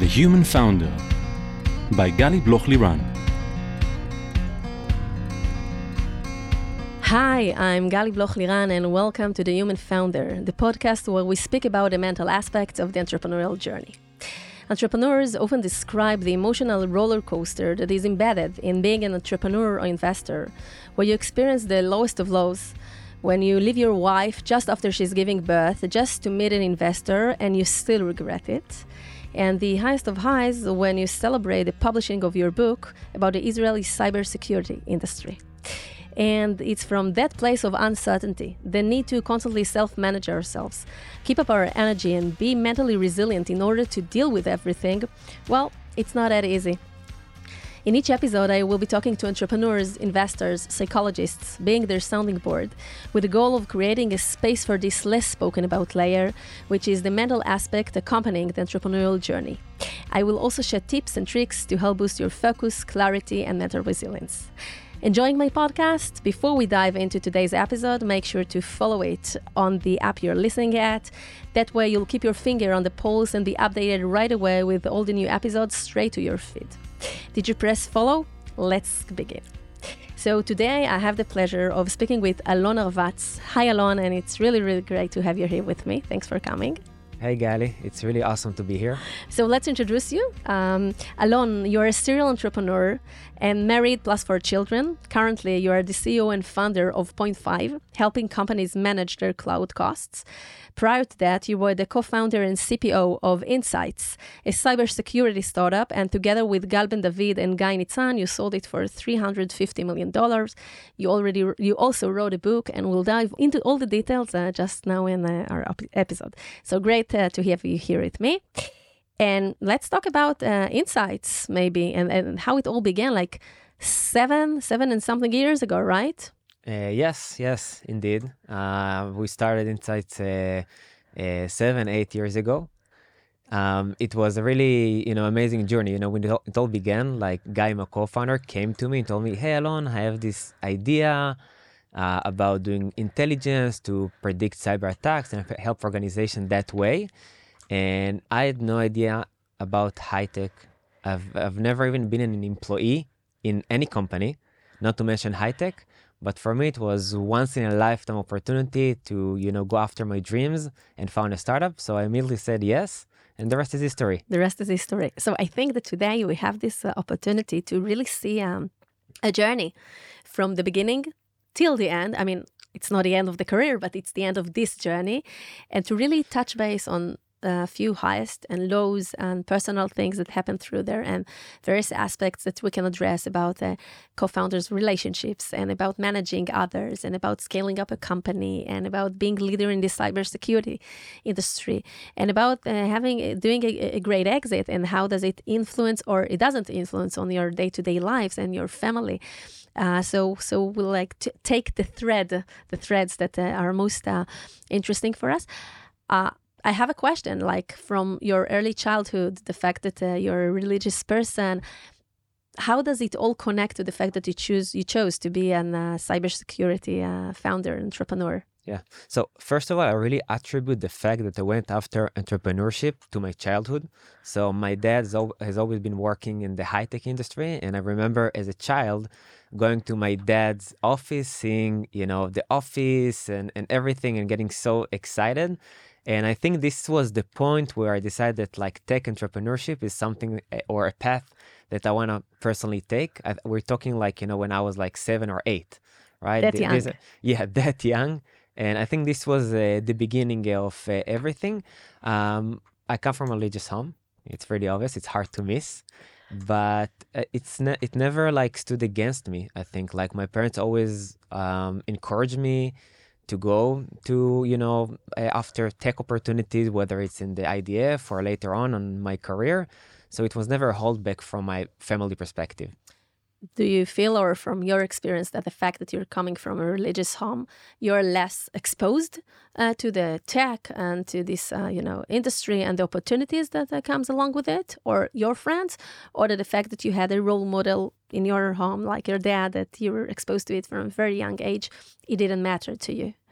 The Human Founder by Gali Bloch-Liran. Hi, I'm Gali Bloch-Liran and welcome to The Human Founder, the podcast where we speak about the mental aspects of the entrepreneurial journey. Entrepreneurs often describe the emotional roller coaster that is embedded in being an entrepreneur or investor, where you experience the lowest of lows, when you leave your wife just after she's giving birth just to meet an investor and you still regret it. And the highest of highs when you celebrate the publishing of your book about the Israeli cybersecurity industry. And it's from that place of uncertainty, the need to constantly self-manage ourselves, keep up our energy and be mentally resilient in order to deal with everything. Well, it's not that easy. In each episode, I will be talking to entrepreneurs, investors, psychologists, being their sounding board, with the goal of creating a space for this less spoken about layer, which is the mental aspect accompanying the entrepreneurial journey. I will also share tips and tricks to help boost your focus, clarity, and mental resilience. Enjoying my podcast? Before we dive into today's episode, make sure to follow it on the app you're listening at. That way you'll keep your finger on the pulse and be updated right away with all the new episodes straight to your feed. Did you press follow? Let's begin. So today I have the pleasure of speaking with Alon Arvatz. Hi Alon, and it's really, really great to have you here with me. Thanks for coming. Hey Gali, it's really awesome to be here. So let's introduce you. Alon, you're a serial entrepreneur and married plus 4 children. Currently, you are the CEO and founder of Point5, helping companies manage their cloud costs. Prior to that, you were the co-founder and CPO of Insights, a cybersecurity startup, and together with Gal Ben David and Guy Nitzan, you sold it for $350 million. You also wrote a book, and we'll dive into all the details just now in our episode. So great to have you here with me. And let's talk about Insights, maybe, and how it all began, like seven and something years ago, right? Yes, indeed. We started Insights 7-8 years ago. It was a really, amazing journey. When it all began, like Guy, my co-founder, came to me and told me, "Hey, Alon, I have this idea about doing intelligence to predict cyber attacks and help organizations that way." And I had no idea about high tech. I've never even been an employee in any company, not to mention high tech. But for me, it was once in a lifetime opportunity to, go after my dreams and found a startup. So I immediately said yes. And the rest is history. The rest is history. So I think that today we have this opportunity to really see a journey from the beginning till the end. I mean, it's not the end of the career, but it's the end of this journey. And to really touch base on a few highest and lows and personal things that happen through there and various aspects that we can address about co-founders' relationships and about managing others and about scaling up a company and about being leader in the cybersecurity industry and about doing a great exit and how does it influence or it doesn't influence on your day-to-day lives and your family. So we'll like to take the threads that are most interesting for us. I have a question, like from your early childhood, the fact that you're a religious person, how does it all connect to the fact that you chose to be a cybersecurity founder, entrepreneur? Yeah. So first of all, I really attribute the fact that I went after entrepreneurship to my childhood. So my dad has always been working in the high-tech industry. And I remember as a child going to my dad's office, seeing, the office and everything and getting so excited. And I think this was the point where I decided that like tech entrepreneurship is something or a path that I want to personally take. We're talking like, when I was like 7 or 8, right? That young. That young. And I think this was the beginning of everything. I come from a religious home. It's pretty obvious. It's hard to miss. But it never like stood against me. I think like my parents always encouraged me to go to, after tech opportunities, whether it's in the IDF or later on my career. So it was never a holdback from my family perspective. Do you feel, or from your experience, that the fact that you're coming from a religious home, you're less exposed to the tech and to this, industry and the opportunities that comes along with it, or your friends, or the fact that you had a role model in your home, like your dad, that you were exposed to it from a very young age, it didn't matter to you?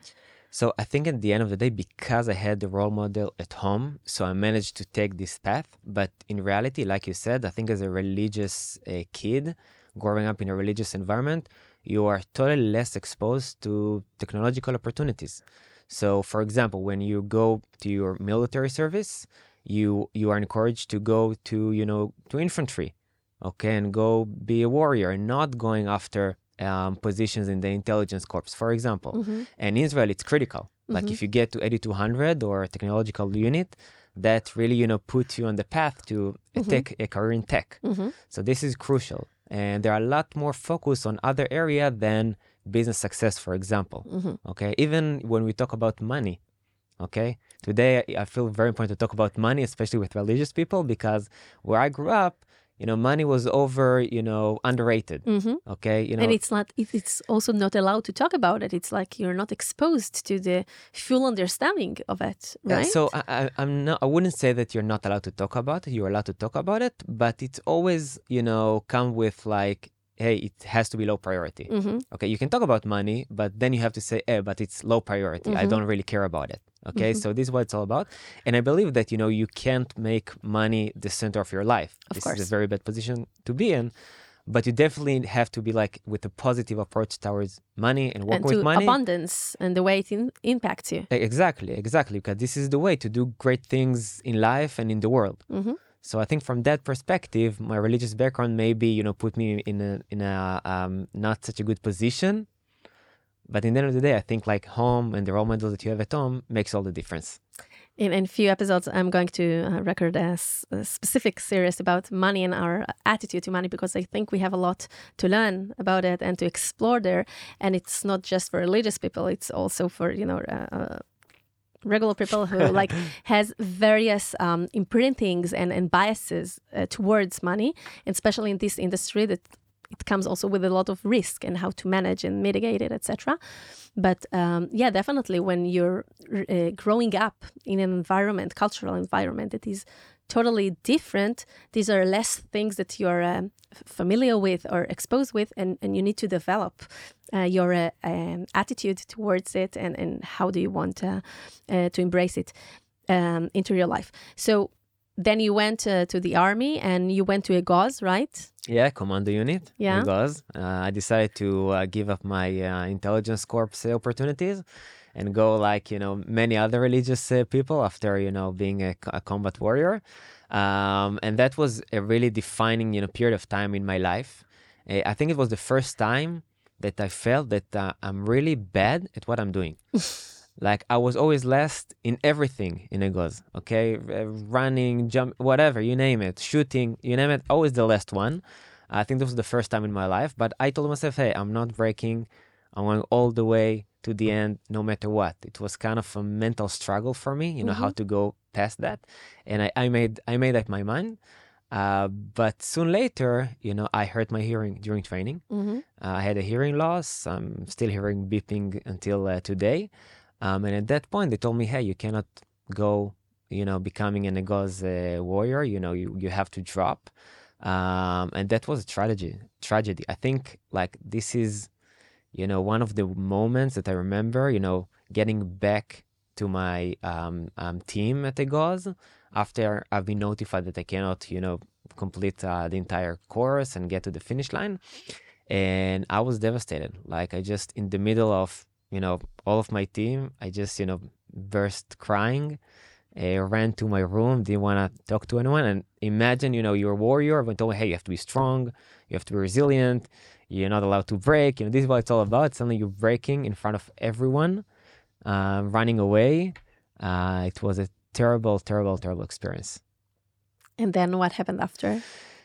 So I think at the end of the day, because I had the role model at home, so I managed to take this path. But in reality, like you said, I think as a religious kid, growing up in a religious environment, you are totally less exposed to technological opportunities. So, for example, when you go to your military service, you are encouraged to go to infantry, okay, and go be a warrior, and not going after positions in the intelligence corps, for example. And in Israel, it's critical. Like if you get to 8200 or a technological unit, that really, puts you on the path to a career in tech. So this is crucial. And there are a lot more focus on other area than business success, for example. Okay, even when we talk about money. Okay, today I feel very important to talk about money, especially with religious people, because where I grew up, money was underrated. Okay, and it's also not allowed to talk about it. It's like you're not exposed to the full understanding of it, right? So I wouldn't say that you're not allowed to talk about it. You're allowed to talk about it, but it's always, come with like, hey, it has to be low priority. Okay, you can talk about money, but then you have to say, but it's low priority. I don't really care about it. Okay, so this is what it's all about. And I believe that, you can't make money the center of your life. This is a very bad position to be in. But you definitely have to be like with a positive approach towards money and work with money. Abundance and the way it impacts you. Exactly. Because this is the way to do great things in life and in the world. So I think from that perspective, my religious background maybe, put me in a not such a good position. But in the end of the day, I think like home and the role model that you have at home makes all the difference. In a few episodes, I'm going to record a specific series about money and our attitude to money, because I think we have a lot to learn about it and to explore there. And it's not just for religious people; it's also for regular people who like has various imprintings and biases towards money, and especially in this industry that. It comes also with a lot of risk and how to manage and mitigate it, etc. But definitely when you're growing up in an environment, cultural environment that is totally different, these are less things that you're familiar with or exposed with, and you need to develop your attitude towards it and how do you want to embrace it into your life. So then you went to the army and you went to Egoz, right? Yeah, commando unit. Yeah. Egoz. I decided to give up my intelligence corps opportunities and go like, many other religious people after, being a combat warrior. And that was a really defining, period of time in my life. I think it was the first time that I felt that I'm really bad at what I'm doing. Like I was always last in everything in Egoz, okay? Running, jump, whatever, you name it, shooting, you name it, always the last one. I think this was the first time in my life, but I told myself, hey, I'm not breaking. I'm going all the way to the end, no matter what. It was kind of a mental struggle for me, how to go past that. And I made up my mind. But soon later, I hurt my hearing during training. I had a hearing loss. I'm still hearing beeping until today. And at that point, they told me, hey, you cannot go, becoming an Egoz warrior. You have to drop. And that was a tragedy. I think like this is, one of the moments that I remember, getting back to my team at Egoz after I've been notified that I cannot, complete the entire course and get to the finish line. And I was devastated. Like I just, in the middle of, all of my team, I just, burst crying, ran to my room, didn't want to talk to anyone. And imagine, you're a warrior. Everyone told me, hey, you have to be strong. You have to be resilient. You're not allowed to break. This is what it's all about. Suddenly you're breaking in front of everyone, running away. It was a terrible, terrible, terrible experience. And then what happened after?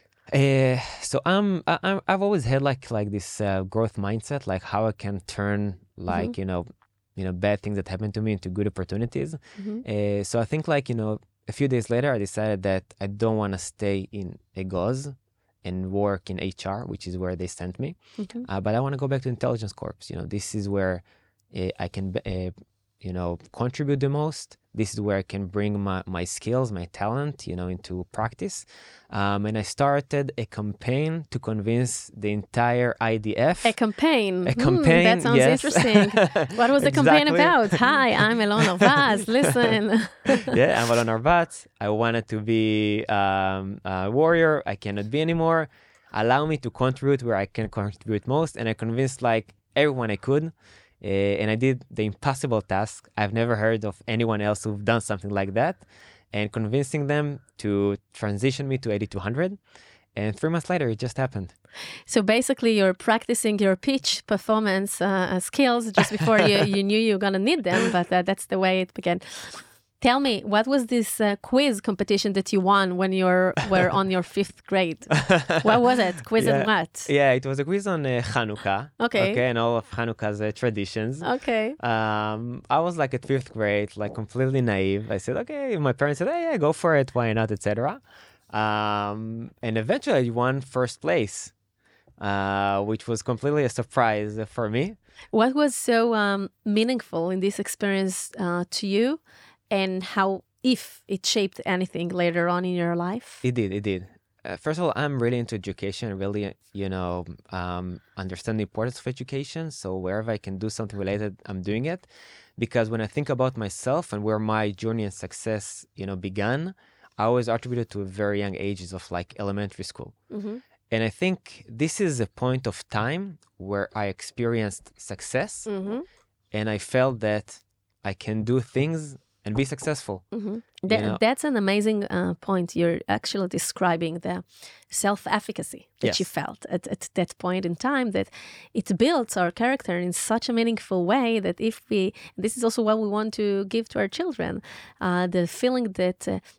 So I've always had like this growth mindset, like how I can turn like, bad things that happen to me into good opportunities. So I think like, a few days later, I decided that I don't want to stay in Egoz and work in HR, which is where they sent me. But I want to go back to intelligence corps. This is where I can, contribute the most. This is where I can bring my skills, my talent, into practice. And I started a campaign to convince the entire IDF. A campaign. A campaign, that sounds yes. interesting. What was the campaign Exactly. about? Hi, I'm Elon Arbatz. Listen. Yeah, I'm Elon Arbatz. I wanted to be a warrior. I cannot be anymore. Allow me to contribute where I can contribute most. And I convinced everyone I could. And I did the impossible task. I've never heard of anyone else who've done something like that. And convincing them to transition me to 8200. And 3 months later, it just happened. So basically, you're practicing your pitch performance skills just before you knew you were going to need them. But that's the way it began. Tell me, what was this quiz competition that you won when you were on your 5th grade? What was it? Quiz on what? Yeah, it was a quiz on Hanukkah. Okay. And all of Hanukkah's traditions. Okay. I was at 5th grade, completely naive. I said, okay. My parents said, hey, yeah, go for it. Why not, etc. And eventually I won 1st place, which was completely a surprise for me. What was so meaningful in this experience to you? And how, if it shaped anything later on in your life? It did. First of all, I'm really into education, really, understand the importance of education. So wherever I can do something related, I'm doing it. Because when I think about myself and where my journey and success, began, I always attributed to very young ages of elementary school. Mm-hmm. And I think this is a point of time where I experienced success. Mm-hmm. And I felt that I can do things and be successful. Mm-hmm. That's an amazing point. You're actually describing the self-efficacy that you felt at that point in time, that it builds our character in such a meaningful way that this is also what we want to give to our children, the feeling that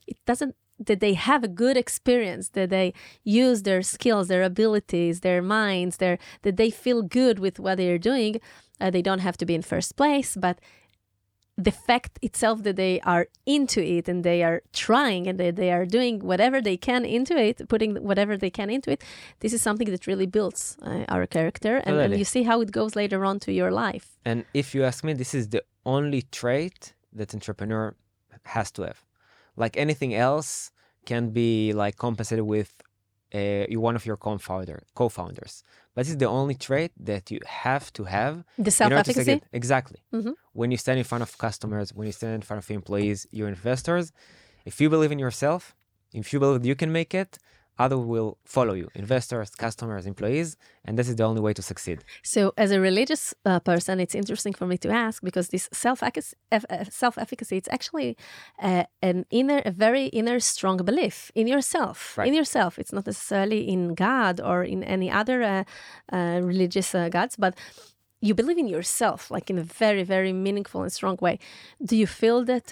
that they have a good experience, that they use their skills, their abilities, their minds, that they feel good with what they're doing. They don't have to be in first place, but the fact itself that they are into it and they are trying and they are doing whatever they can into it, putting whatever they can into it, this is something that really builds our character. And you see how it goes later on to your life. And if you ask me, this is the only trait that entrepreneur has to have. Anything else can be compensated with one of your co-founders. But this is the only trait that you have to have. The self-efficacy? Exactly. Mm-hmm. When you stand in front of customers, when you stand in front of employees, your investors, if you believe in yourself, if you believe you can make it, others will follow you. Investors, customers, employees, and this is the only way to succeed. So as a religious person, it's interesting for me to ask, because this self-efficacy, it's actually a very inner strong belief in yourself. Right. In yourself. It's not necessarily in God or in any other religious gods, but you believe in yourself, in a very, very meaningful and strong way. Do you feel that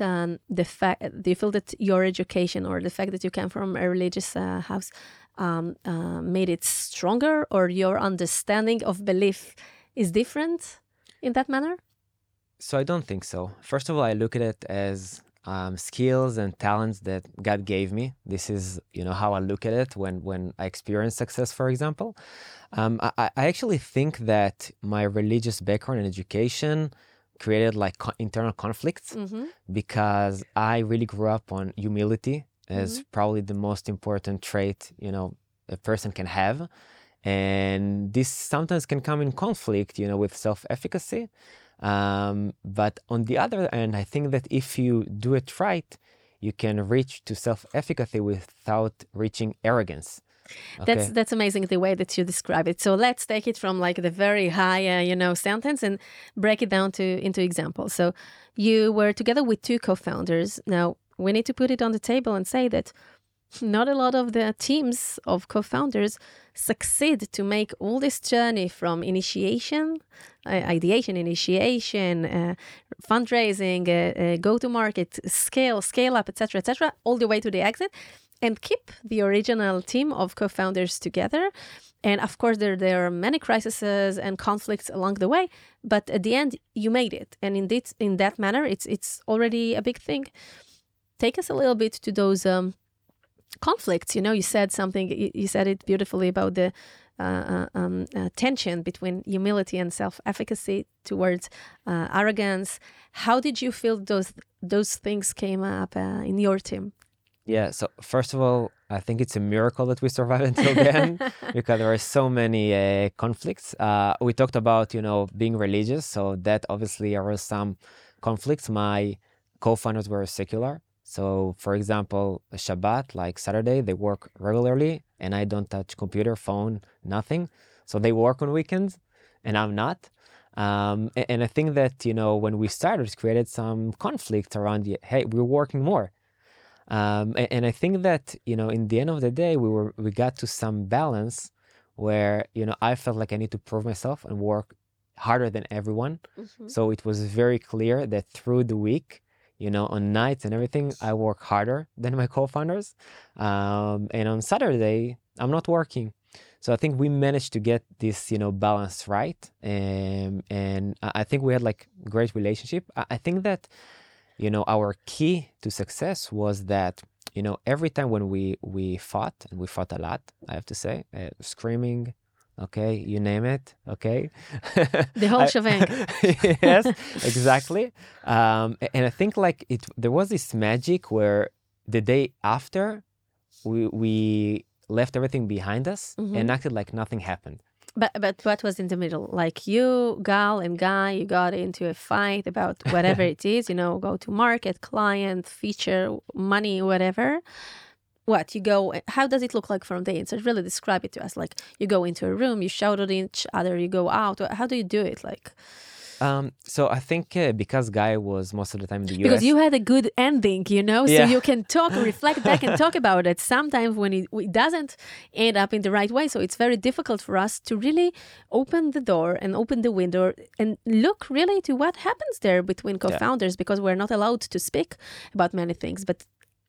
your education or the fact that you came from a religious house made it stronger, or your understanding of belief is different in that manner? So I don't think so. First of all, I look at it as skills and talents that God gave me. This is, how I look at it when I experience success, for example. I actually think that my religious background and education created internal conflicts, Mm-hmm. because I really grew up on humility as probably the most important trait, a person can have. And this sometimes can come in conflict, with self-efficacy. But on the other hand, I think that if you do it right, you can reach to self-efficacy without reaching arrogance. Okay. That's amazing, the way that you describe it. So let's take it from the very high, sentence and break it down into examples. So you were together with 2 co-founders. Now we need to put it on the table and say that not a lot of the teams of co-founders succeed to make all this journey from initiation, ideation, fundraising, go-to-market, scale up, etc., all the way to the exit, and keep the original team of co-founders together. And of course, there are many crises and conflicts along the way, but at the end, you made it. And indeed, in that manner, it's already a big thing. Take us a little bit to those conflicts. You said something, you said it beautifully about the tension between humility and self-efficacy towards arrogance. How did you feel those things came up in your team? Yeah, so first of all, I think it's a miracle that we survived until then because there are so many conflicts. We talked about, being religious, so that obviously there were some conflicts. My co-founders were secular. So, for example, Shabbat, like Saturday, they work regularly and I don't touch computer, phone, nothing. So they work on weekends and I'm not. And I think that, when we started, it created some conflict around, hey, we're working more. And I think that, in the end of the day, we got to some balance where, I felt like I need to prove myself and work harder than everyone. Mm-hmm. So it was very clear that through the week, on nights and everything, I work harder than my co-founders. And on Saturday, I'm not working. So I think we managed to get this, balance right. And I think we had like great relationship. I think that, our key to success was that, every time when we fought, and we fought a lot, I have to say, screaming, okay, you name it, okay. The whole shebang. Yes, exactly. And I think like there was this magic where the day after we left everything behind us and acted like nothing happened. But what was in the middle? Like you, Gal and Guy, you got into a fight about whatever it is, go to market, client, feature, money, whatever. How does it look like from the inside? Really describe it to us. Like you go into a room, you shout at each other, you go out. How do you do it? Like, so I think because Guy was most of the time in the US. Because you had a good ending, so Yeah. you can talk, reflect back and talk about it. Sometimes when it doesn't end up in the right way, so it's very difficult for us to really open the door and open the window and look really to what happens there between co-founders because we're not allowed to speak about many things. But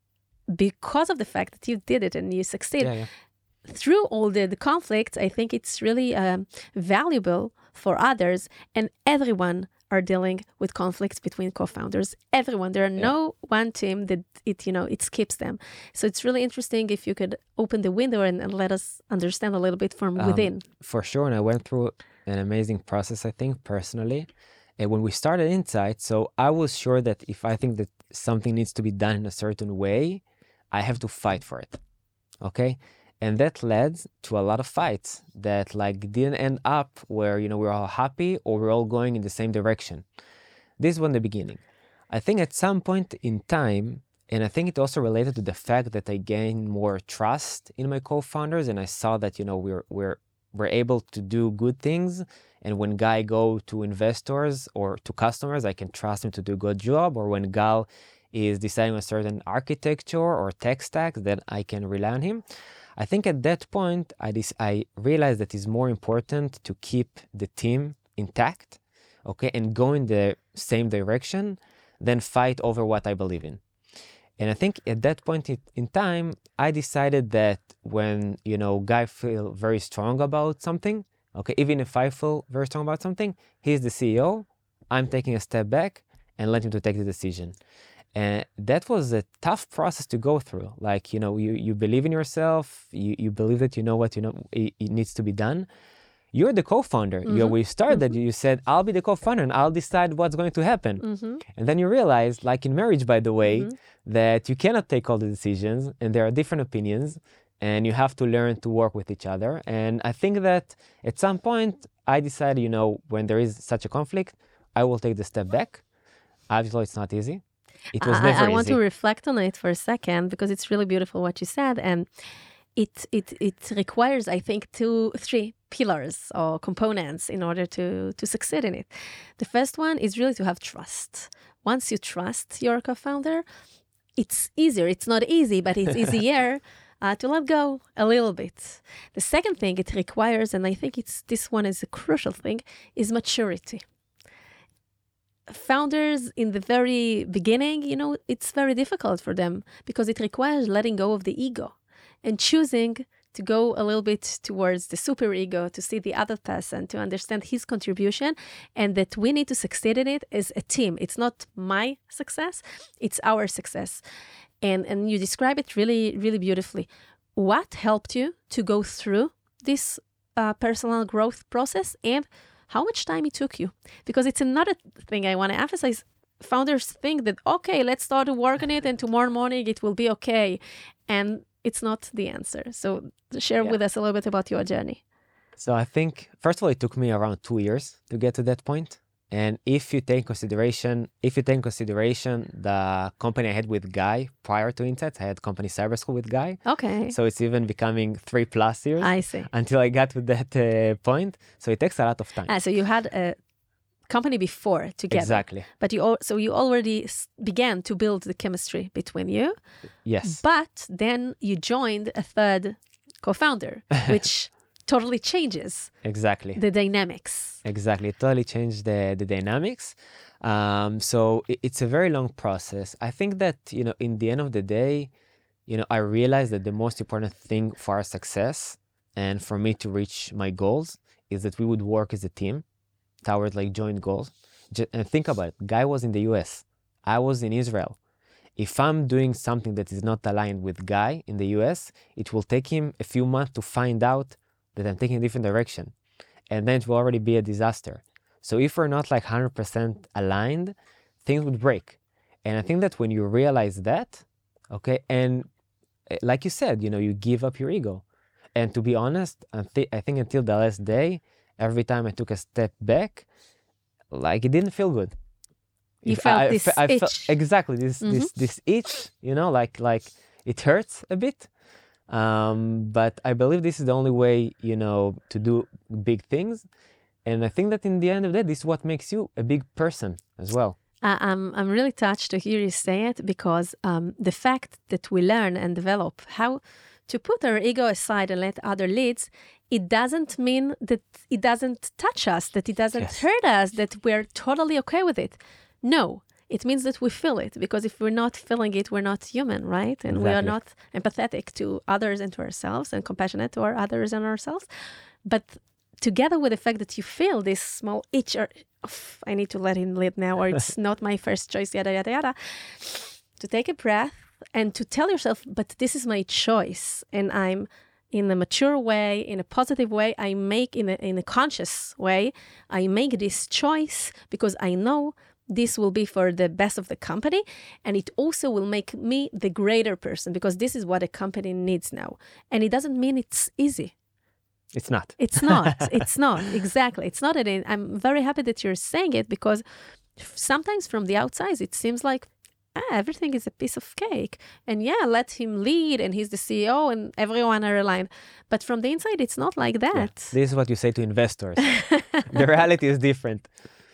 because of the fact that you did it and you succeeded, through all the conflicts, I think it's really valuable for others, and everyone are dealing with conflicts between co-founders. Everyone. There are no one team that it skips them. So it's really interesting if you could open the window and let us understand a little bit from within. For sure, and I went through an amazing process, I think, personally. And when we started Insight, so I was sure that if I think that something needs to be done in a certain way, I have to fight for it. Okay? And that led to a lot of fights that like didn't end up where, we're all happy or we're all going in the same direction. This was the beginning. I think at some point in time, and I think it also related to the fact that I gained more trust in my co-founders and I saw that, we're able to do good things. And when Guy go to investors or to customers, I can trust him to do a good job. Or when Gal is deciding on certain architecture or tech stack, that I can rely on him. I think at that point, I realized that it's more important to keep the team intact, okay, and go in the same direction than fight over what I believe in. And I think at that point in time, I decided that when, Guy feel very strong about something, okay, even if I feel very strong about something, he's the CEO, I'm taking a step back and let him to take the decision. And that was a tough process to go through. Like, you believe in yourself, you believe that what it needs to be done. You're the co-founder. Mm-hmm. We started that you said, I'll be the co-founder and I'll decide what's going to happen. Mm-hmm. And then you realize, like in marriage, by the way, that you cannot take all the decisions and there are different opinions and you have to learn to work with each other. And I think that at some point I decided, when there is such a conflict, I will take the step back. Obviously, it's not easy. It was never easy. I want to reflect on it for a second because it's really beautiful what you said. And it requires, I think, 3 pillars or components in order to succeed in it. The first one is really to have trust. Once you trust your co-founder, it's easier. It's not easy, but it's easier to let go a little bit. The second thing it requires, and I think this one is a crucial thing, is maturity. Founders in the very beginning, it's very difficult for them because it requires letting go of the ego and choosing to go a little bit towards the superego, to see the other person, to understand his contribution, and that we need to succeed in it as a team. It's not my success, it's our success. And you describe it really, really beautifully. What helped you to go through this personal growth process and how much time it took you. Because it's another thing I want to emphasize. Founders think that, okay, let's start to work on it and tomorrow morning it will be okay. And it's not the answer. So share with us a little bit about your journey. So I think, first of all, it took me around 2 years to get to that point. And if you take consideration the company I had with Guy prior to Insights, I had company Cyber School with Guy. Okay. So it's even becoming 3+ years. I see. Until I got to that point. So it takes a lot of time. So you had a company before together. Exactly. But you already began to build the chemistry between you. Yes. But then you joined a third co-founder, which totally changes the dynamics. Exactly. It totally changed the dynamics. So it's a very long process. I think that, in the end of the day, I realized that the most important thing for our success and for me to reach my goals is that we would work as a team towards like joint goals. And think about it. Guy was in the US. I was in Israel. If I'm doing something that is not aligned with Guy in the US, it will take him a few months to find out that I'm taking a different direction. And then it will already be a disaster. So if we're not like 100% aligned, things would break. And I think that when you realize that, okay, and like you said, you give up your ego. And to be honest, I think until the last day, every time I took a step back, like it didn't feel good. You felt this itch. Felt exactly this itch, like it hurts a bit. But I believe this is the only way, to do big things. And I think that in the end of the day, this is what makes you a big person as well. I'm really touched to hear you say it because the fact that we learn and develop how to put our ego aside and let other leads, it doesn't mean that it doesn't touch us, that it doesn't hurt us, that we're totally okay with it. No. It means that we feel it, because if we're not feeling it, we're not human, right? And we are not empathetic to others and to ourselves and compassionate to our others and ourselves. But together with the fact that you feel this small itch or, I need to let him lead now, or it's not my first choice, yada, yada, yada, to take a breath and to tell yourself, but this is my choice. And I'm in a mature way, in a positive way, I make in a conscious way, I make this choice because I know this will be for the best of the company, and it also will make me the greater person, because this is what a company needs now. And it doesn't mean it's easy. It's not. It's not. It's not. Exactly. It's not. I'm very happy that you're saying it, because sometimes from the outside, it seems like everything is a piece of cake. And let him lead, and he's the CEO, and everyone are aligned. But from the inside, it's not like that. Yeah. This is what you say to investors. The reality is different.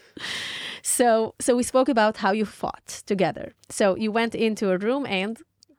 So we spoke about how you fought together. So you went into a room and...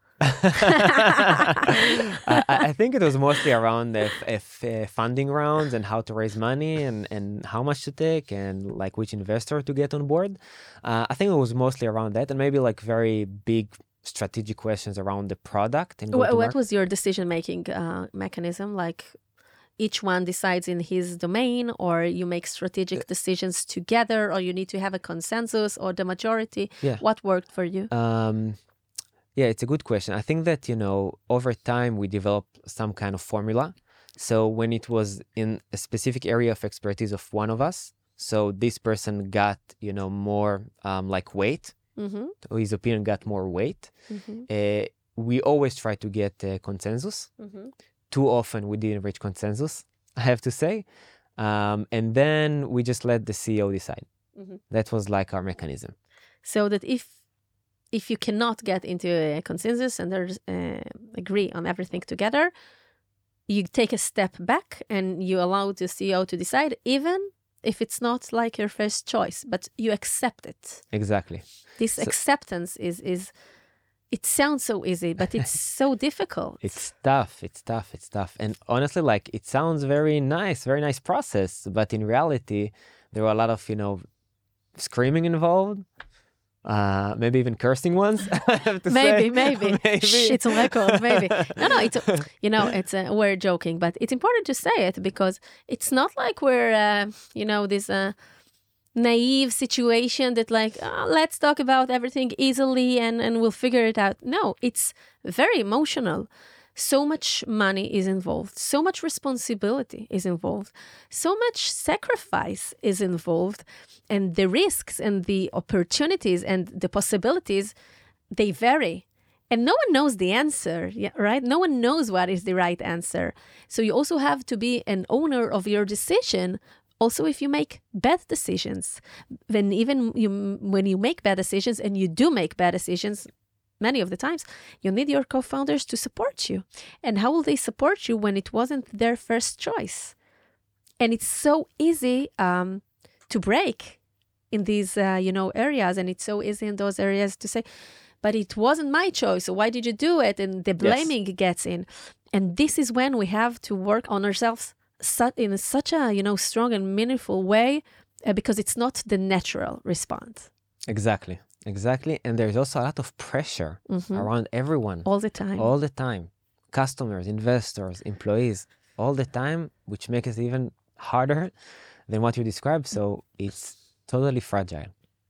I think it was mostly around funding rounds and how to raise money and how much to take and like which investor to get on board. I think it was mostly around that, and maybe like very big strategic questions around the product. And what was your decision-making mechanism? Like... each one decides in his domain, or you make strategic decisions together, or you need to have a consensus or the majority? What worked for you? It's a good question. I think that, over time we developed some kind of formula. So when it was in a specific area of expertise of one of us, so this person got, more like weight, his opinion got more weight. We always try to get consensus. Too often we didn't reach consensus, I have to say. And then we just let the CEO decide. That was like our mechanism. So that if you cannot get into a consensus and there's agree on everything together, you take a step back and you allow the CEO to decide, even if it's not like your first choice, but you accept it. Exactly. This acceptance is it sounds so easy, but it's so difficult. It's tough. And honestly, like, it sounds very nice process. But in reality, there were a lot of, screaming involved. Maybe even cursing ones, I have to say. Maybe. Shh, it's on record, maybe. No, it's, we're joking, but it's important to say it, because it's not like we're, this... naive situation that like, let's talk about everything easily and we'll figure it out. No, it's very emotional. so much money is involved, so much responsibility is involved, so much sacrifice is involved, and the risks and the opportunities and the possibilities, they vary. And no one knows the answer, right? No one knows what is the right answer. So you also have to be an owner of your decision. Also, if you make bad decisions, then when you make bad decisions, and you do make bad decisions, many of the times, you need your co-founders to support you. And how will they support you when it wasn't their first choice? And it's so easy to break in these, areas. And it's so easy in those areas to say, but it wasn't my choice. So why did you do it? And the blaming gets in. And this is when we have to work on ourselves in such a, strong and meaningful way, because it's not the natural response. Exactly. And there's also a lot of pressure around everyone. All the time. Customers, investors, employees, all the time, which makes it even harder than what you described. So it's totally fragile.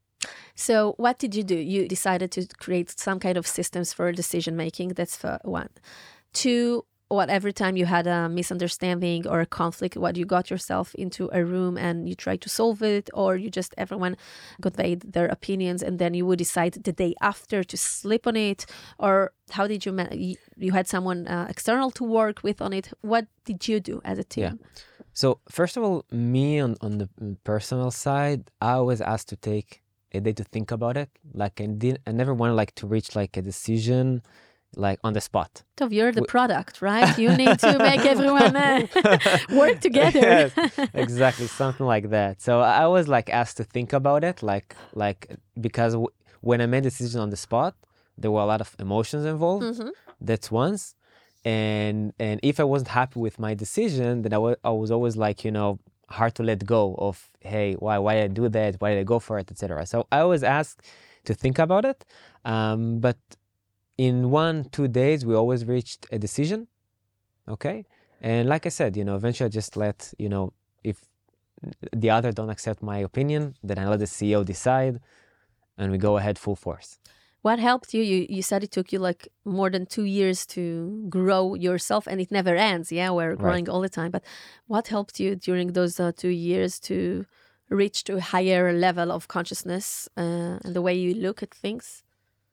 So what did you do? You decided to create some kind of systems for decision making. That's for one. Two, every time you had a misunderstanding or a conflict, you got yourself into a room and you tried to solve it, or everyone conveyed their opinions and then you would decide the day after to sleep on it? Or how did you had someone external to work with on it? What did you do as a team? Yeah. So first of all, me on the personal side, I was asked to take a day to think about it. Like I never wanted to reach a decision on the spot. So you're the product, right? You need to make everyone work together. Yes, exactly, something like that. So I was asked to think about it, because when I made a decision on the spot, there were a lot of emotions involved. That's once. And if I wasn't happy with my decision, then I was always hard to let go of, hey, why did I do that? Why did I go for it, etc. So I was asked to think about it. But in 1-2 days, we always reached a decision. Okay. And like I said, eventually I just let, if the other don't accept my opinion, then I let the CEO decide and we go ahead full force. What helped you? You said it took you more than 2 years to grow yourself, and it never ends. Yeah, we're growing all the time. But what helped you during those 2 years to reach to a higher level of consciousness and the way you look at things?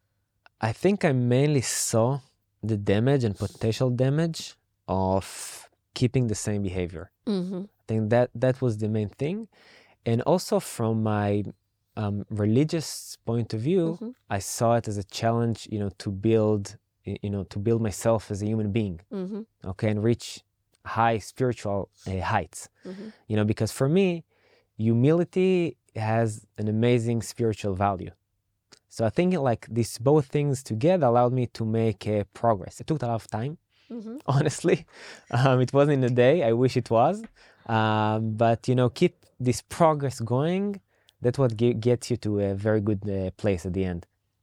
I think I mainly saw the damage and potential damage of keeping the same behavior. I think that was the main thing. And also from my religious point of view, I saw it as a challenge, to build myself as a human being, okay, and reach high spiritual heights, because for me, humility has an amazing spiritual value. So I think these both things together allowed me to make progress. It took a lot of time, honestly. It wasn't in a day. I wish it was. But, keep this progress going. That's what gets you to a very good place at the end.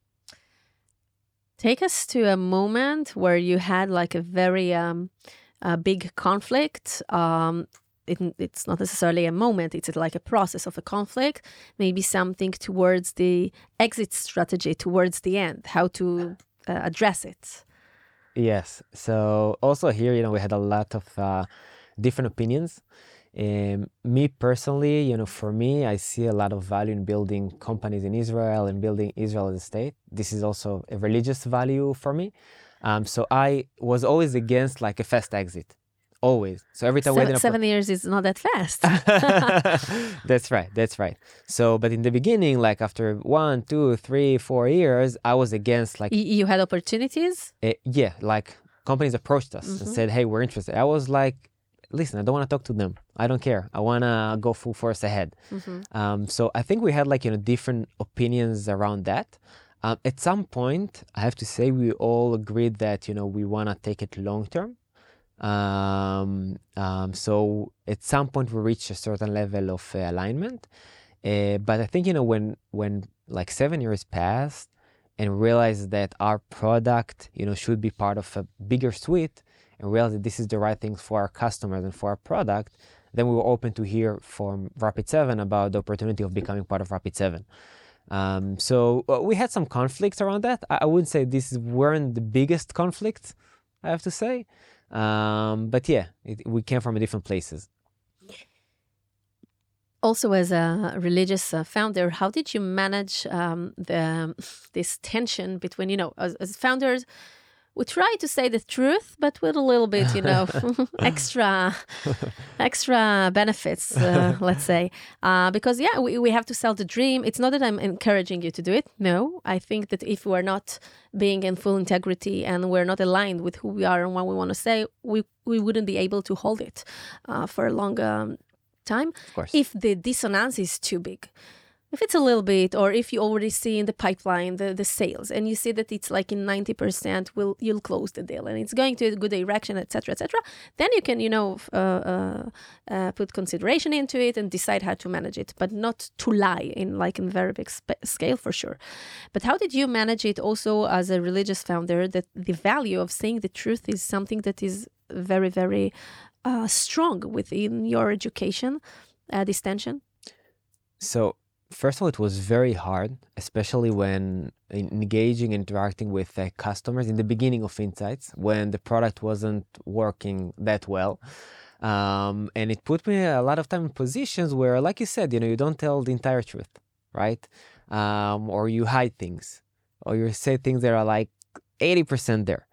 Take us to a moment where you had a very big conflict. It's not necessarily a moment, it's a process of a conflict, maybe something towards the exit strategy, towards the end, how to address it. Yes. So also here, we had a lot of different opinions. Me personally, for me, I see a lot of value in building companies in Israel and building Israel as a state. This is also a religious value for me. So I was always against a fast exit. Always. So every time 7 years is not that fast. That's right. So, but in the beginning, after 1, 2, 3, 4 years, I was against You had opportunities? Yeah, companies approached us and said, hey, we're interested. I was listen, I don't want to talk to them. I don't care. I want to go full force ahead. So I think we had different opinions around that. At some point, I have to say, we all agreed that, we want to take it long term. So at some point we reach a certain level of alignment, but I think when 7 years passed and realized that our product should be part of a bigger suite, and realized that this is the right thing for our customers and for our product, then we were open to hear from Rapid7 about the opportunity of becoming part of Rapid7. So we had some conflicts around that. I wouldn't say these weren't the biggest conflicts. I have to say. But yeah, we came from different places. Also, as a religious founder, how did you manage this tension between, as founders, we try to say the truth, but with a little bit, extra benefits, let's say. Because, we have to sell the dream. It's not that I'm encouraging you to do it. No, I think that if we're not being in full integrity and we're not aligned with who we are and what we want to say, we wouldn't be able to hold it for a long time. Of course. If the dissonance is too big. If it's a little bit, or if you already see in the pipeline the sales, and you see that it's like in 90%, you'll close the deal, and it's going to a good direction, etc., then you can, put consideration into it and decide how to manage it, but not to lie in very big scale for sure. But how did you manage it also as a religious founder, that the value of saying the truth is something that is very, very strong within your education, this tension? So, first of all, it was very hard, especially when engaging, interacting with customers in the beginning of Insights, when the product wasn't working that well. And it put me a lot of time in positions where, like you said, you don't tell the entire truth, right? Or you hide things, or you say things that are like 80% there.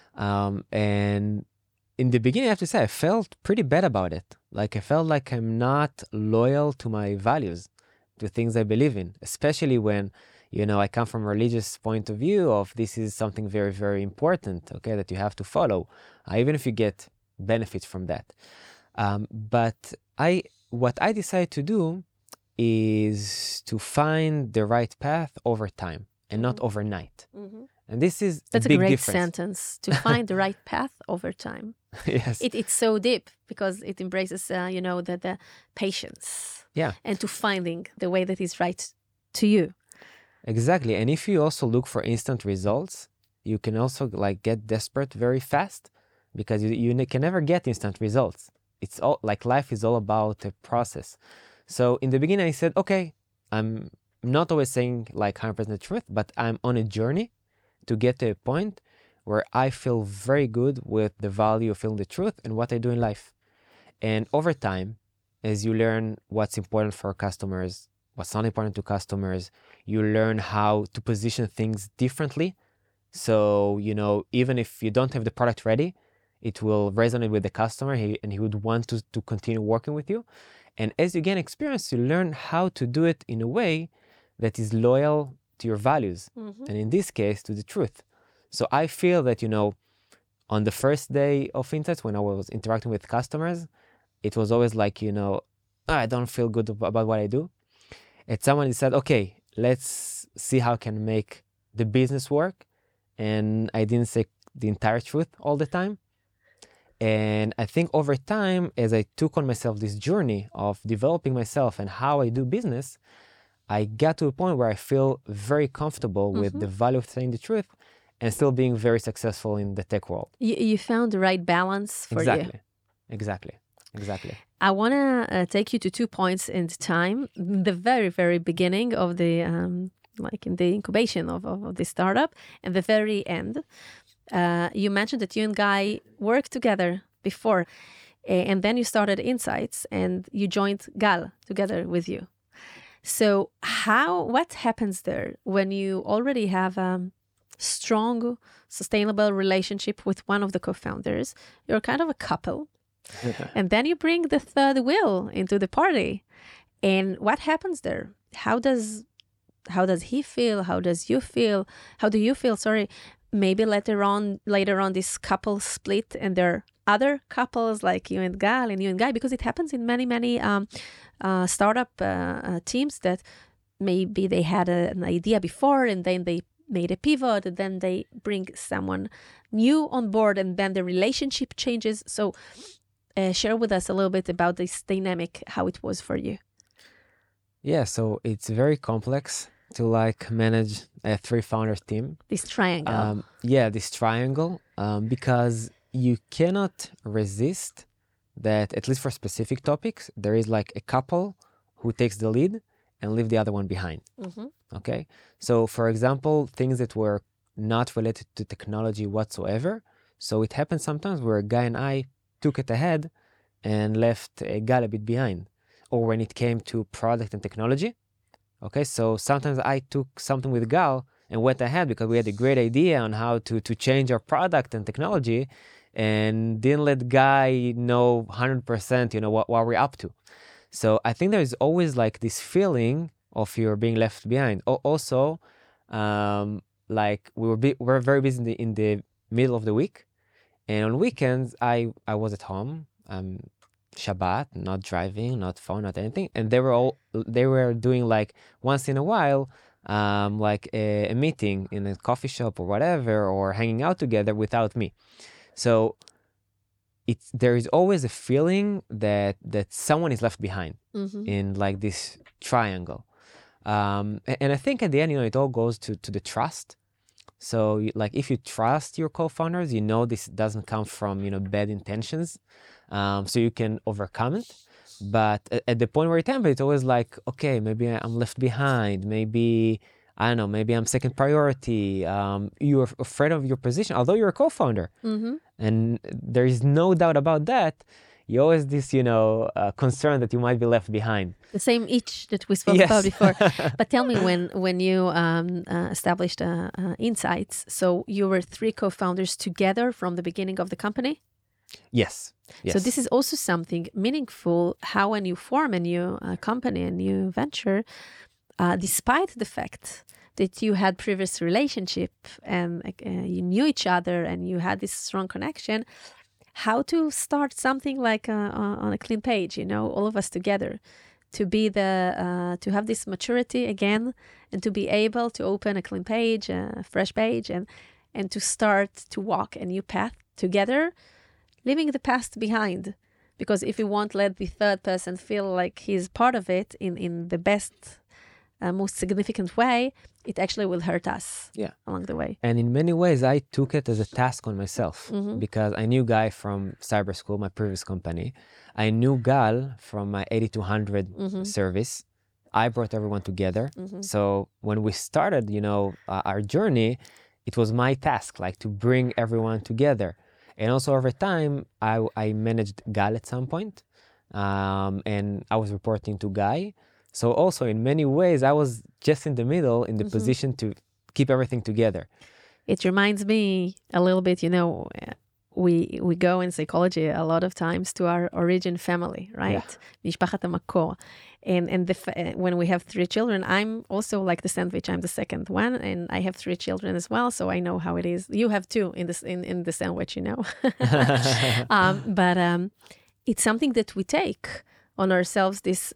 And in the beginning, I have to say, I felt pretty bad about it. Like, I felt like I'm not loyal to my values, to things I believe in, especially when, I come from a religious point of view of this is something very, very important, okay, that you have to follow, even if you get benefits from that. But what I decided to do is to find the right path over time and not overnight. Mm-hmm. And that's a big great difference. Sentence, to find the right path over time. Yes. It's so deep because it embraces, the patience. Yeah. And to finding the way that is right to you. Exactly. And if you also look for instant results, you can also get desperate very fast, because you can never get instant results. It's all life is all about a process. So in the beginning I said, okay, I'm not always saying 100% truth, but I'm on a journey to get to a point where I feel very good with the value of feeling the truth and what I do in life. And over time, as you learn what's important for customers, what's not important to customers, you learn how to position things differently. So, even if you don't have the product ready, it will resonate with the customer and he would want to continue working with you. And as you gain experience, you learn how to do it in a way that is loyal to your values. Mm-hmm. And in this case, to the truth. So I feel that, on the first day of Insights, when I was interacting with customers, it was always I don't feel good about what I do. And someone said, okay, let's see how I can make the business work. And I didn't say the entire truth all the time. And I think over time, as I took on myself this journey of developing myself and how I do business, I got to a point where I feel very comfortable with the value of saying the truth and still being very successful in the tech world. You found the right balance for you. Exactly. I want to take you to 2 points in time. The very, very beginning of the, in the incubation of the startup, and the very end. You mentioned that you and Guy worked together before, and then you started Insights, and you joined Gal together with you. So what happens there when you already have a strong, sustainable relationship with one of the co-founders? You're kind of a couple. And then you bring the third wheel into the party. And what happens there? How does he feel? How does you feel? How do you feel? Sorry. Maybe later on this couple split and there are other couples like you and Gal and you and Guy, because it happens in many, many startup teams that maybe they had an idea before and then they made a pivot and then they bring someone new on board and then the relationship changes. So share with us a little bit about this dynamic, how it was for you. Yeah, so it's very complex to manage a 3-founder team. This triangle. This triangle, because you cannot resist that, at least for specific topics, there is a couple who takes the lead and leave the other one behind. Mm-hmm. Okay? So, for example, things that were not related to technology whatsoever, So it happened sometimes where Guy and I took it ahead and left Gal a bit behind. Or when it came to product and technology. Okay, so sometimes I took something with Gal and went ahead because we had a great idea on how to change our product and technology, and didn't let Guy know 100%, what we're up to. So I think there's always like this feeling of you're being left behind. Also, like we're very busy in the middle of the week, and on weekends I was at home. Shabbat, not driving, not phone, not anything, and they were doing like once in a while, like a meeting in a coffee shop or whatever, or hanging out together without me. So there is always a feeling that someone is left behind in like this triangle, and I think at the end, it all goes to the trust. So like if you trust your co-founders, this doesn't come from bad intentions. So you can overcome it. But at the point where it happens, it's always like, okay, maybe I'm left behind. Maybe, I don't know, maybe I'm second priority. You're afraid of your position, although you're a co-founder. And there is no doubt about that. You always this, concern that you might be left behind. The same itch that we spoke about before. But tell me, when you established Insights, so you were 3 co-founders together from the beginning of the company? Yes. So this is also something meaningful, how when you form a new company, a new venture, despite the fact that you had previous relationship and you knew each other and you had this strong connection, how to start something like on a clean page, all of us together, to be to have this maturity again, and to be able to open a clean page, a fresh page, and to start to walk a new path together, leaving the past behind. Because if we won't let the third person feel like he's part of it in the best, most significant way, it actually will hurt us along the way. And in many ways, I took it as a task on myself, because I knew Guy from Cyber School, my previous company. I knew Gal from my 8200 service. I brought everyone together. So when we started, our journey, it was my task, like to bring everyone together. And also over time, I managed Gal at some point, and I was reporting to Guy. So also in many ways, I was just in the middle, in the position to keep everything together. It reminds me a little bit, we go in psychology a lot of times to our origin family, right? Mishpachat HaMakor. And when we have 3 children, I'm also like the sandwich. I'm the second one, and I have 3 children as well, so I know how it is. You have 2 in the sandwich, But it's something that we take on ourselves, this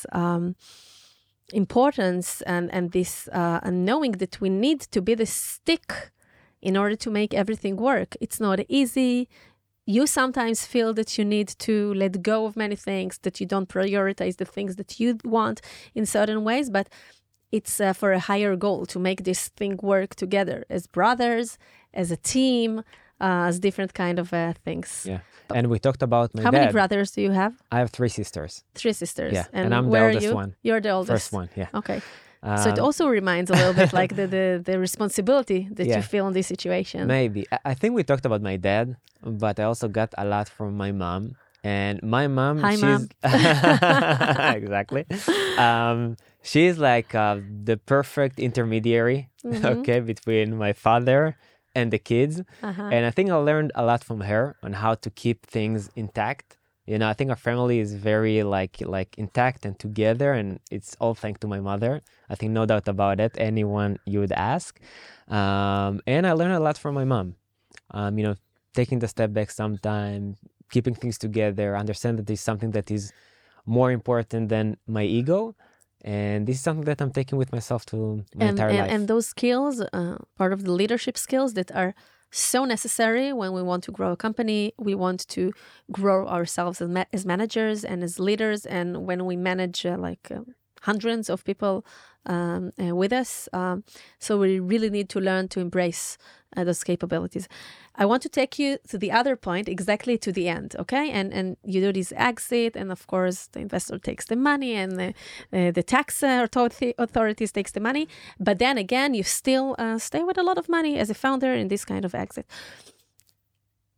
importance and this knowing that we need to be the stick in order to make everything work. It's not easy. You sometimes feel that you need to let go of many things, that you don't prioritize the things that you want in certain ways, but it's for a higher goal to make this thing work together as brothers, as a team, as different kind of things. Yeah. And we talked about my How dad. many brothers do you have? I have 3 sisters. 3 sisters. Yeah. And I'm the where oldest are you? one. You're the oldest. First one, yeah. Okay. So it also reminds a little bit like the responsibility that you feel in this situation. Maybe. I think we talked about my dad, but I also got a lot from my mom. And my mom, Hi, she's... Mom. Exactly. She's like the perfect intermediary, okay, between my father and the kids. And I think I learned a lot from her on how to keep things intact. I think our family is very like intact and together, and it's all thanks to my mother. I think no doubt about it, anyone you would ask. And I learned a lot from my mom. Taking the step back sometimes, keeping things together, understand that there's something that is more important than my ego. And this is something that I'm taking with myself to my entire life. And those skills, part of the leadership skills that are so necessary when we want to grow a company, we want to grow ourselves as managers and as leaders. And when we manage hundreds of people with us. So we really need to learn to embrace those capabilities. I want to take you to the other point, exactly to the end, okay? And you do this exit, and of course, the investor takes the money, and the tax authorities takes the money. But then again, you still stay with a lot of money as a founder in this kind of exit.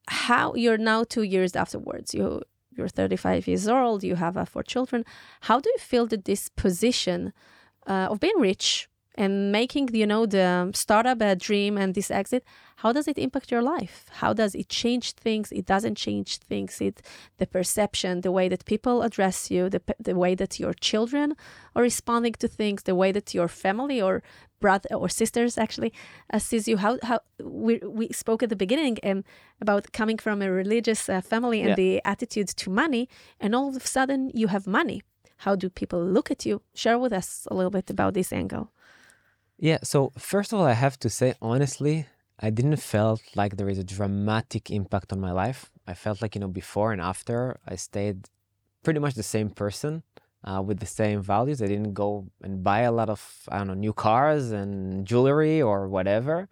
how you're now 2 years afterwards, you're 35 years old, you have 4 children. How do you feel that this position of being rich and making, the startup dream and this exit, how does it impact your life? How does it change things? It doesn't change things. The perception, the way that people address you, the way that your children are responding to things, the way that your family or brother or sisters actually sees you. How we spoke at the beginning about coming from a religious family and the attitude to money, and all of a sudden you have money. How do people look at you? Share with us a little bit about this angle. Yeah, so first of all, I have to say, honestly, I didn't felt like there is a dramatic impact on my life. I felt like, before and after, I stayed pretty much the same person with the same values. I didn't go and buy a lot of, new cars and jewelry or whatever.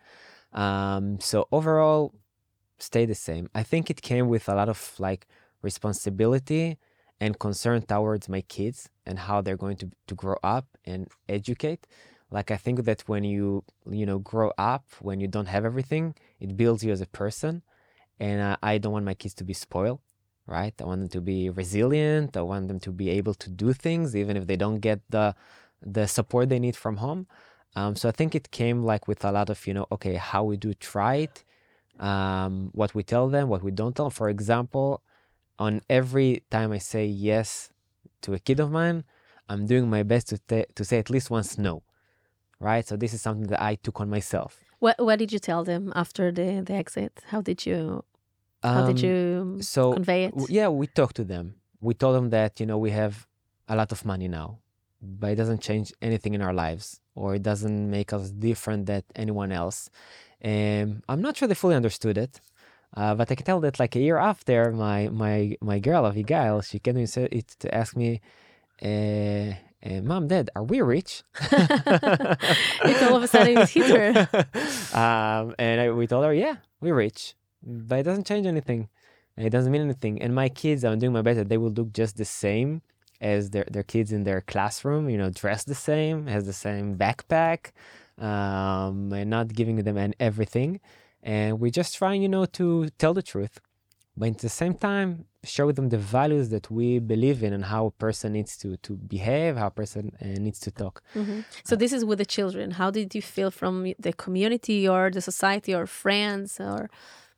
So overall, stay the same. I think it came with a lot of responsibility and concern towards my kids and how they're going to grow up and educate. I think that when you grow up, when you don't have everything, it builds you as a person. And I don't want my kids to be spoiled, right? I want them to be resilient. I want them to be able to do things, even if they don't get the support they need from home. So I think it came with a lot of, okay, how we do try it, what we tell them, what we don't tell them. For example, on every time I say yes to a kid of mine, I'm doing my best to say at least once no. Right, so this is something that I took on myself. What did you tell them after the exit? How did you convey it? Yeah, we talked to them. We told them that we have a lot of money now, but it doesn't change anything in our lives, or it doesn't make us different than anyone else. I'm not sure they fully understood it, but I can tell that a year after, my girl Abigail, she came to ask me. Mom, Dad, are we rich? It's all of a sudden it hit her. We told her, yeah, we're rich, but it doesn't change anything. It doesn't mean anything. And my kids, I'm doing my best that they will look just the same as their kids in their classroom, dressed the same, has the same backpack, and not giving them everything. And we're just trying, to tell the truth. But at the same time, show them the values that we believe in and how a person needs to behave, how a person needs to talk. Mm-hmm. So this is with the children. How did you feel from the community or the society or friends or?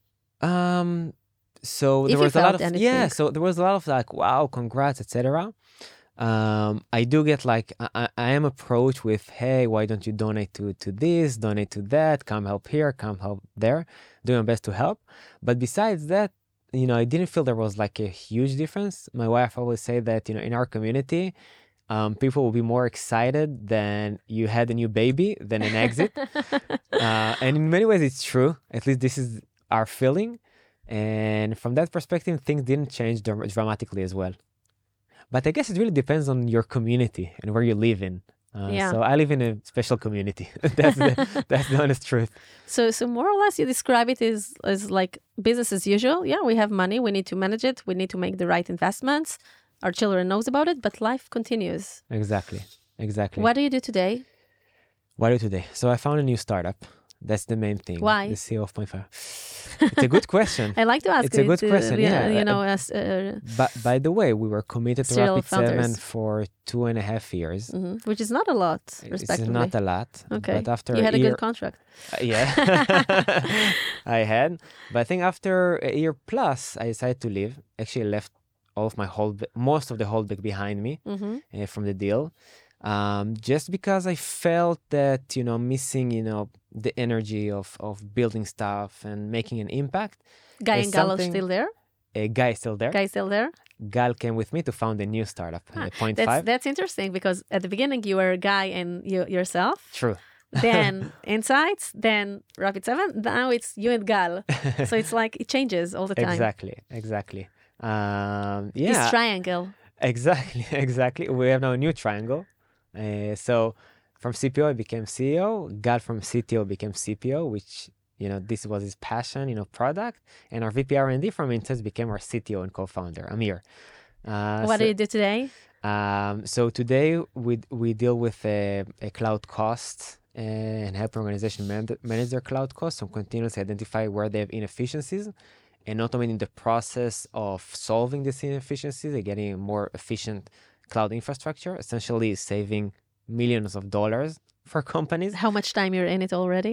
So there was a lot of anything. So there was a lot of wow, congrats, etc. I do get I am approached with, hey, why don't you donate to this, donate to that, come help here, come help there, doing my best to help. But besides that, I didn't feel there was a huge difference. My wife always say that, in our community, people will be more excited than you had a new baby than an exit. And in many ways, it's true. At least this is our feeling. And from that perspective, things didn't change dramatically as well. But I guess it really depends on your community and where you live in. So I live in a special community. That's the honest truth. So more or less, you describe it as business as usual. Yeah, we have money. We need to manage it. We need to make the right investments. Our children knows about it, but life continues. Exactly. What do you do today? So I found a new startup. That's the main thing. Why? The CEO of Point5. It's a good question. I like to ask. It's a good question. But by the way, we were committed to Rapid7 for 2.5 years, which is not a lot. Respectively, it's not a lot. Okay, but after you had a good contract. Yeah, I had. But I think after a year plus, I decided to leave. Actually, left all of most of the holdback behind me from the deal. Just because I felt that, missing, the energy of building stuff and making an impact. Guy and Gal are still there? Guy is still there. Gal came with me to found a new startup, Point5. That's interesting because at the beginning you were a Guy and yourself. True. Then Insights, then Rapid7. Now it's you and Gal. So it's it changes all the time. Exactly. This triangle. Exactly. We have now a new triangle. So from CPO, I became CEO. Gal from CTO became CPO, which, this was his passion, product. And our VP R&D from Insights became our CTO and co-founder, Amir. What do you do today? So today we deal with a cloud cost and help organization manage their cloud costs and continuously identify where they have inefficiencies and automating the process of solving these inefficiencies and getting a more efficient cloud infrastructure, essentially saving millions of dollars for companies. How much time you're in it already?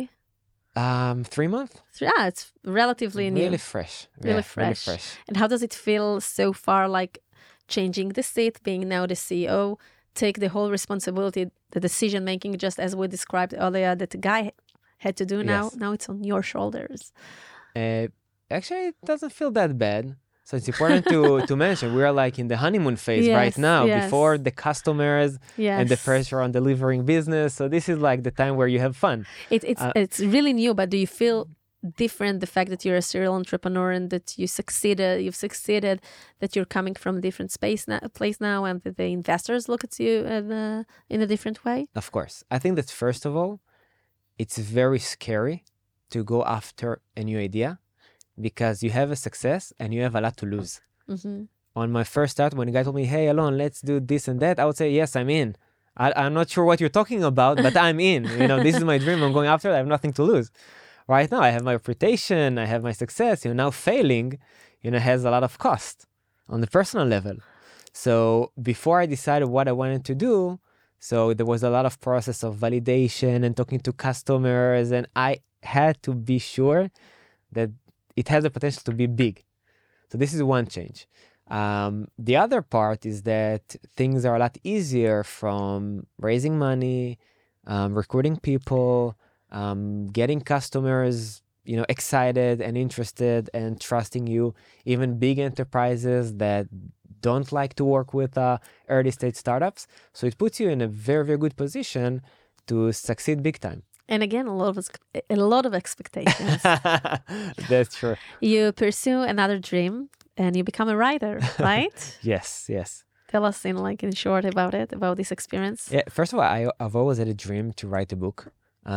3 months. It's relatively new. Really fresh. Really Yeah, fresh. And how does it feel so far, like changing the seat, being now the CEO, take the whole responsibility, the decision making, just as we described earlier, that the guy had to do now? Yes. Now it's on your shoulders. Actually, it doesn't feel that bad. So it's important to mention we are like in the honeymoon phase right now, before the customers and the pressure on delivering business. So this is like the time where you have fun. It's really new, but do you feel different, the fact that you're a serial entrepreneur and that you've succeeded, that you're coming from a different place now, and that the investors look at you in a different way? Of course. I think that first of all, it's very scary to go after a new idea, because you have a success and you have a lot to lose. Mm-hmm. On my first start, when a guy told me, hey, Alon, let's do this and that, I would say, yes, I'm in. I'm not sure what you're talking about, but I'm in. This is my dream. I'm going after it. I have nothing to lose. Right now, I have my reputation. I have my success. Now failing, has a lot of cost on the personal level. So before I decided what I wanted to do, so there was a lot of process of validation and talking to customers, and I had to be sure that it has the potential to be big. So this is one change. The other part is that things are a lot easier, from raising money, recruiting people, getting customers, excited and interested and trusting you, even big enterprises that don't like to work with early stage startups. So it puts you in a very, very good position to succeed big time. And again, a lot of expectations. That's true. You pursue another dream and you become a writer, right? Yes. Tell us in short about this experience. Yeah, first of all, I've always had a dream to write a book.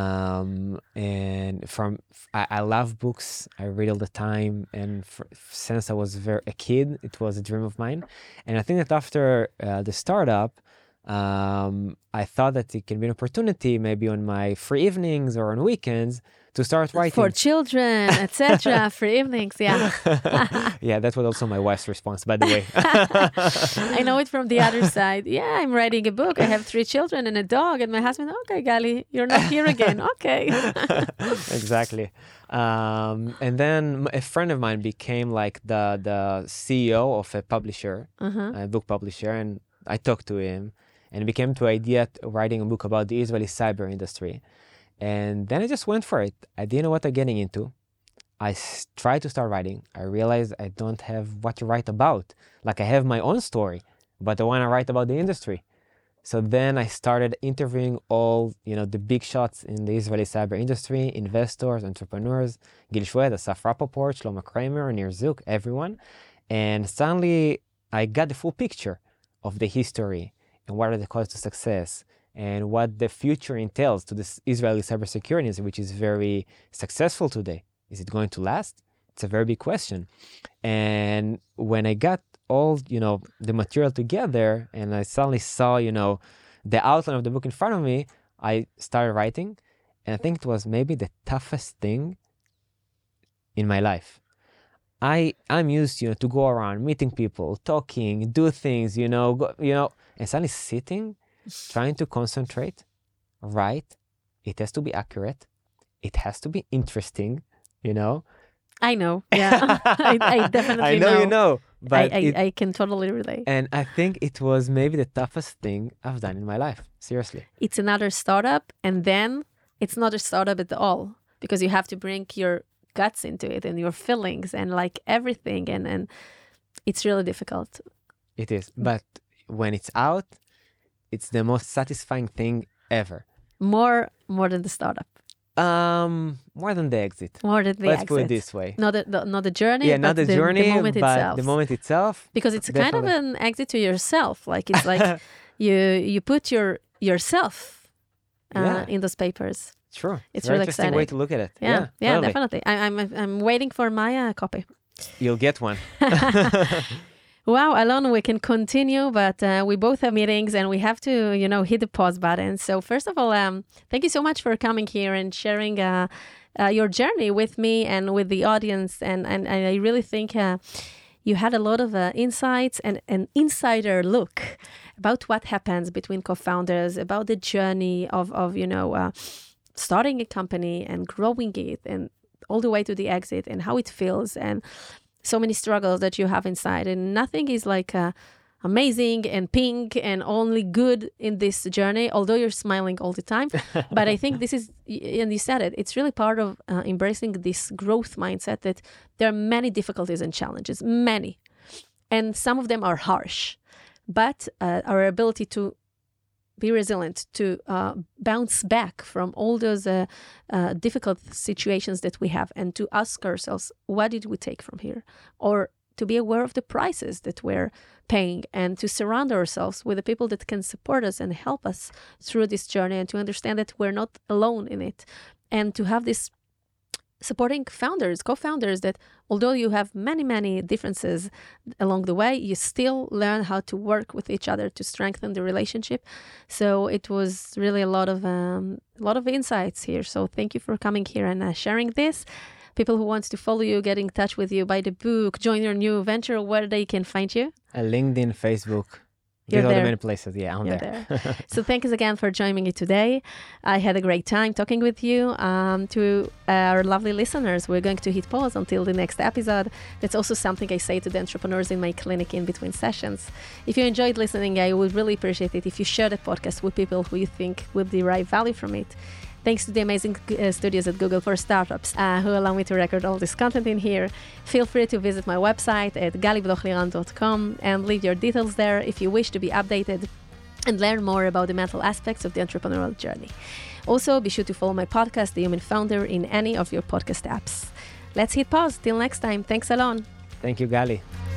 And I love books. I read all the time. And since I was a kid, it was a dream of mine. And I think that after the startup, I thought that it can be an opportunity, maybe on my free evenings or on weekends, to start writing. For children, etc. Free evenings, yeah. Yeah, that was also my wife's response, by the way. I know it from the other side. Yeah, I'm writing a book. I have 3 children and a dog, and my husband, okay, Gali, you're not here again. Okay. Exactly. And then a friend of mine became like the CEO of a publisher, a book publisher, and I talked to him, and it became to idea writing a book about the Israeli cyber industry. And then I just went for it. I didn't know what I'm getting into. I tried to start writing. I realized I don't have what to write about. Like, I have my own story, but I want to write about the industry. So then I started interviewing all, the big shots in the Israeli cyber industry, investors, entrepreneurs, Gil Shwed, Asaf Rappaport, Shlomo Kramer, Nir Zuk, everyone. And suddenly I got the full picture of the history and what are the codes to success and what the future entails to this Israeli cybersecurity industry, which is very successful today. Is it going to last? It's a very big question. And when I got all, the material together and I suddenly saw, the outline of the book in front of me, I started writing. And I think it was maybe the toughest thing in my life. I'm used, to go around, meeting people, talking, do things, and suddenly sitting, trying to concentrate, write. It has to be accurate. It has to be interesting, I know, yeah. I definitely know. I know you know, but I can totally relate. And I think it was maybe the toughest thing I've done in my life, seriously. It's another startup, and then it's not a startup at all, because you have to bring your guts into it and your feelings and like everything, and it's really difficult. It is, but when it's out, it's the most satisfying thing ever. More than the startup. More than the exit. More than the Let's exit. put it this way. Not the journey. Yeah, not the journey, the moment but itself. the moment itself. Because it's kind of an exit to yourself. Like, it's like you put yourself in those papers. Sure. It's very really interesting exciting way to look at it. Yeah, totally. definitely. I'm waiting for my copy. You'll get one. Wow, Alon, we can continue, but we both have meetings and we have to, hit the pause button. So first of all, thank you so much for coming here and sharing your journey with me and with the audience. And I really think you had a lot of insights and an insider look about what happens between co-founders, about the journey of starting a company and growing it and all the way to the exit and how it feels and so many struggles that you have inside. And nothing is like amazing and pink and only good in this journey, although you're smiling all the time. But I think this is, and you said it, it's really part of embracing this growth mindset that there are many difficulties and challenges, many. And some of them are harsh. But our ability to be resilient, to bounce back from all those difficult situations that we have, and to ask ourselves, what did we take from here? Or to be aware of the prices that we're paying, and to surround ourselves with the people that can support us and help us through this journey, and to understand that we're not alone in it, and to have this supporting founders, co-founders, that although you have many, many differences along the way, you still learn how to work with each other to strengthen the relationship. So it was really a lot of insights here. So thank you for coming here and sharing this. People who want to follow you, get in touch with you, buy the book, join your new venture, where they can find you? LinkedIn, Facebook. These are the many places. Yeah, I'm there. So thank you again for joining me today. I had a great time talking with you. To our lovely listeners, we're going to hit pause until the next episode. That's also something I say to the entrepreneurs in my clinic in between sessions. If you enjoyed listening, I would really appreciate it if you share the podcast with people who you think will derive value from it. Thanks to the amazing studios at Google for Startups who allow me to record all this content in here. Feel free to visit my website at galiblochliran.com and leave your details there if you wish to be updated and learn more about the mental aspects of the entrepreneurial journey. Also, be sure to follow my podcast, The Human Founder, in any of your podcast apps. Let's hit pause. Till next time. Thanks, Alon. Thank you, Gali.